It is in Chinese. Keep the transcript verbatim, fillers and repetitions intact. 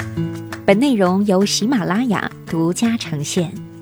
本内容由喜马拉雅独家呈现。